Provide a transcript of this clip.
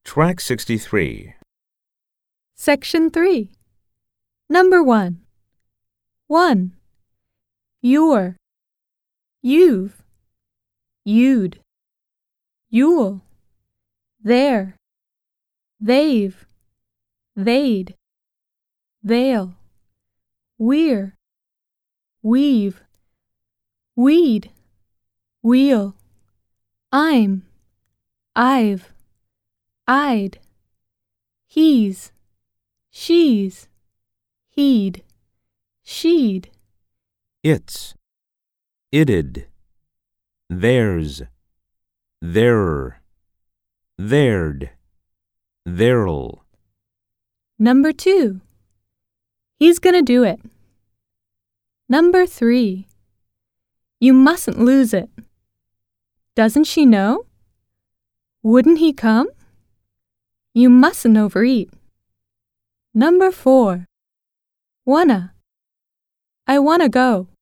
Track 63. Section 3. Number 1. 1. Your, you've, you'd, you'll, there, they've, they'd, they'll, we're, we've, we'd, we'll, I'm, I've, I'd, he's, she's, he'd, she'd, It's, it'd, theirs, their, their'd, there'll. Number 2. He's gonna do it. Number 3. You mustn't lose it. Doesn't she know? Wouldn't he come? You mustn't overeat. Number 4. Wanna. I wanna go.